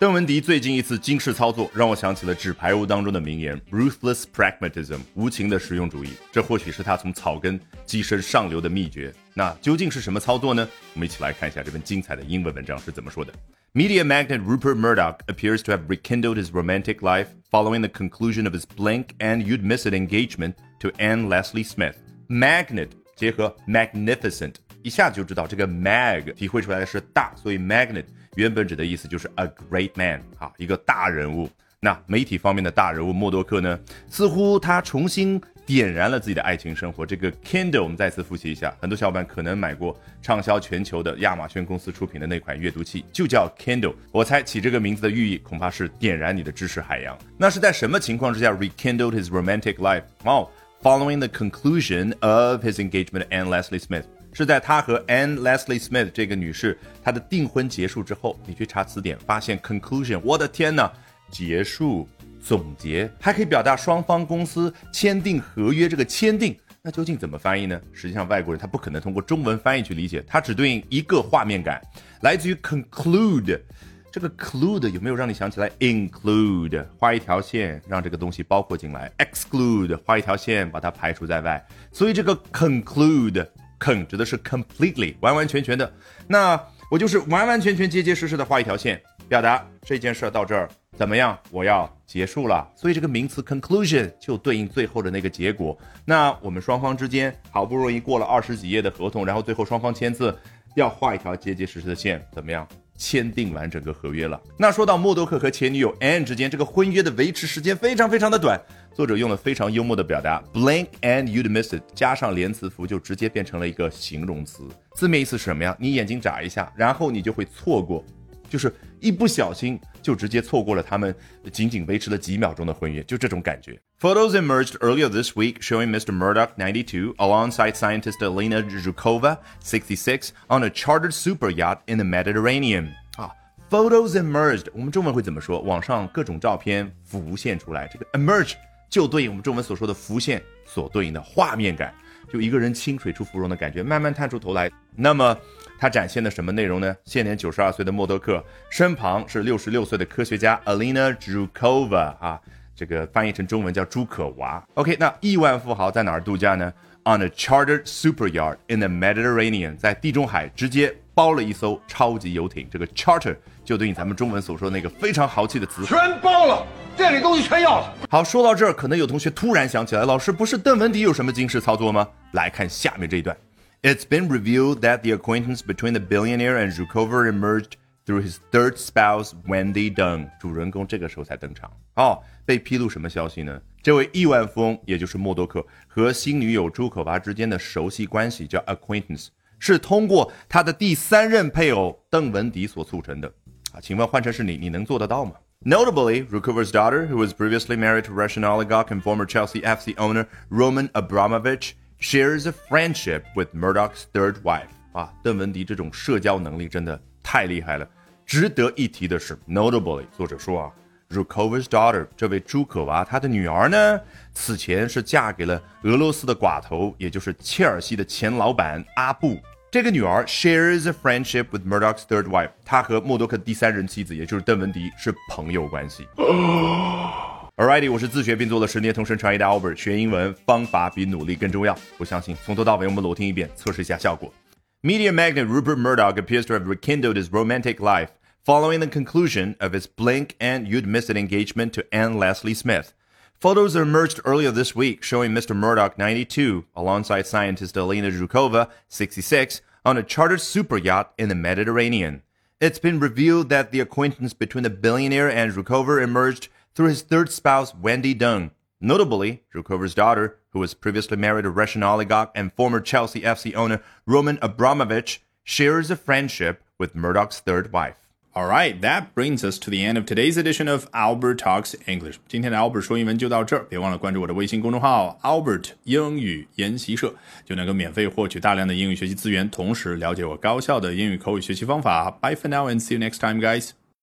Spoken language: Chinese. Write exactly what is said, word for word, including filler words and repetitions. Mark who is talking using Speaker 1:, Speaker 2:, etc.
Speaker 1: 邓文迪最近一次惊世操作让我想起了纸牌屋当中的名言 Ruthless pragmatism 无情的实用主义，这或许是他从草根跻身上流的秘诀。那究竟是什么操作呢？我们一起来看一下这篇精彩的英文文章是怎么说的。 Media magnate Rupert Murdoch appears to have rekindled his romantic life following the conclusion of his blink and you'd miss it engagement to Anne Leslie Smith. Magnate 结合 magnificent， 一下就知道这个 mag 体会出来的是大，所以 magnate原本指的意思就是 a great man 啊，一个大人物。那媒体方面的大人物默多克呢，似乎他重新点燃了自己的爱情生活。这个 Kindle 我们再次复习一下，很多小伙伴可能买过畅销全球的亚马逊公司出品的那款阅读器，就叫 Kindle。我猜起这个名字的寓意恐怕是点燃你的知识海洋。那是在什么情况之下 rekindled his romantic life？ 哦、oh,，following the conclusion of his engagement to Anne Leslie Smith。是在他和 Anne Leslie Smith 这个女士她的订婚结束之后，你去查词典发现 conclusion， 我的天哪，结束总结还可以表达双方公司签订合约，这个签订那究竟怎么翻译呢？实际上外国人他不可能通过中文翻译去理解，它只对应一个画面感，来自于 conclude。这个 clude 有没有让你想起来 include 画一条线让这个东西包括进来， exclude 画一条线把它排除在外，所以这个 conclude con 指的是 completely 完完全全的，那我就是完完全全结结实实的画一条线，表达这件事到这儿怎么样，我要结束了，所以这个名词 conclusion 就对应最后的那个结果。那我们双方之间好不容易过了二十几页的合同，然后最后双方签字要画一条结结实实的线，怎么样签订完整个合约了。那说到默多克和前女友 Anne 之间，这个婚约的维持时间非常非常的短，作者用了非常幽默的表达 blink and you'd miss it 加上连词符就直接变成了一个形容词，字面意思是什么呀？你眼睛眨一下，然后你就会错过，就是一不小心就直接错过了他们仅仅维持了几秒钟的婚约，就这种感觉。Photos emerged earlier this week showing Mister Murdoch, ninety-two, alongside scientist Elena Zhukova, sixty-six, on a chartered super yacht in the Mediterranean. 啊 Photos emerged 我们中文会怎么说？网上各种照片浮现出来，这个 emerge 就对应我们中文所说的浮现所对应的画面感，就一个人清水出芙蓉的感觉，慢慢探出头来。那么他展现的什么内容呢？现年九十二岁的默多克身旁是六十六岁的科学家 Elena Zhukova 啊，这个翻译成中文叫朱可娃。 OK， 那亿万富豪在哪儿度假呢？ On a chartered super yacht in the Mediterranean， 在地中海直接包了一艘超级游艇。这个 charter 就对应咱们中文所说的那个非常豪气的词，
Speaker 2: 全包了，这里东西全要了。
Speaker 1: 好，说到这儿可能有同学突然想起来，老师不是邓文迪有什么惊世操作吗？来看下面这一段。 It's been revealed that the acquaintance between the billionaire and Zhukova emerged through his third spouse Wendy Deng。 主人公这个时候才登场哦，被披露什么消息呢？这位亿万富翁也就是默多克和新女友朱可娃之间的熟悉关系叫 acquaintance， 是通过他的第三任配偶邓文迪所促成的啊，请问换成是你，你能做得到吗？ Notably, Zhukova's daughter, who was previously married to Russian oligarch and former Chelsea F C owner Roman Abramovich, shares a friendship with Murdoch's third wife。 啊，邓文迪这种社交能力真的太厉害了。值得一提的是 notably 作者说啊 Zhukova's daughter 这位朱可娃她的女儿呢，此前是嫁给了俄罗斯的寡头，也就是切尔西的前老板阿布。这个女儿 shares a friendship with Murdoch's third wife， 她和默多克第三任妻子也就是邓文迪是朋友关系。Alrighty， 我是自学并做了十年同声传译的 Albert， 学英文方法比努力更重要。我相信从头到尾我们裸听一遍，测试一下效果。Media magnate Rupert Murdoch appears to have rekindled his romantic life following the conclusion of his blink and you'd miss it engagement to Anne Leslie Smith. Photos emerged earlier this week showing Mister Murdoch, ninety-two, alongside scientist Elena Zhukova, sixty-six, on a chartered super yacht in the Mediterranean. It's been revealed that the acquaintance between the billionaire and Zhukova emerged through his third spouse, Wendy Deng. Notably, Zhukova's daughter, who was previously married to Russian oligarch and former Chelsea F C owner Roman Abramovich, shares a friendship with Murdoch's third wife.
Speaker 3: Alright, that brings us to the end of today's edition of Albert Talks English. 今天的 Albert 说英文就到这儿，别忘了关注我的微信公众号 Albert 英语研习社，就能够免费获取大量的英语学习资源，同时了解我高效的英语口语学习方法。Bye for now and see you next time, guys.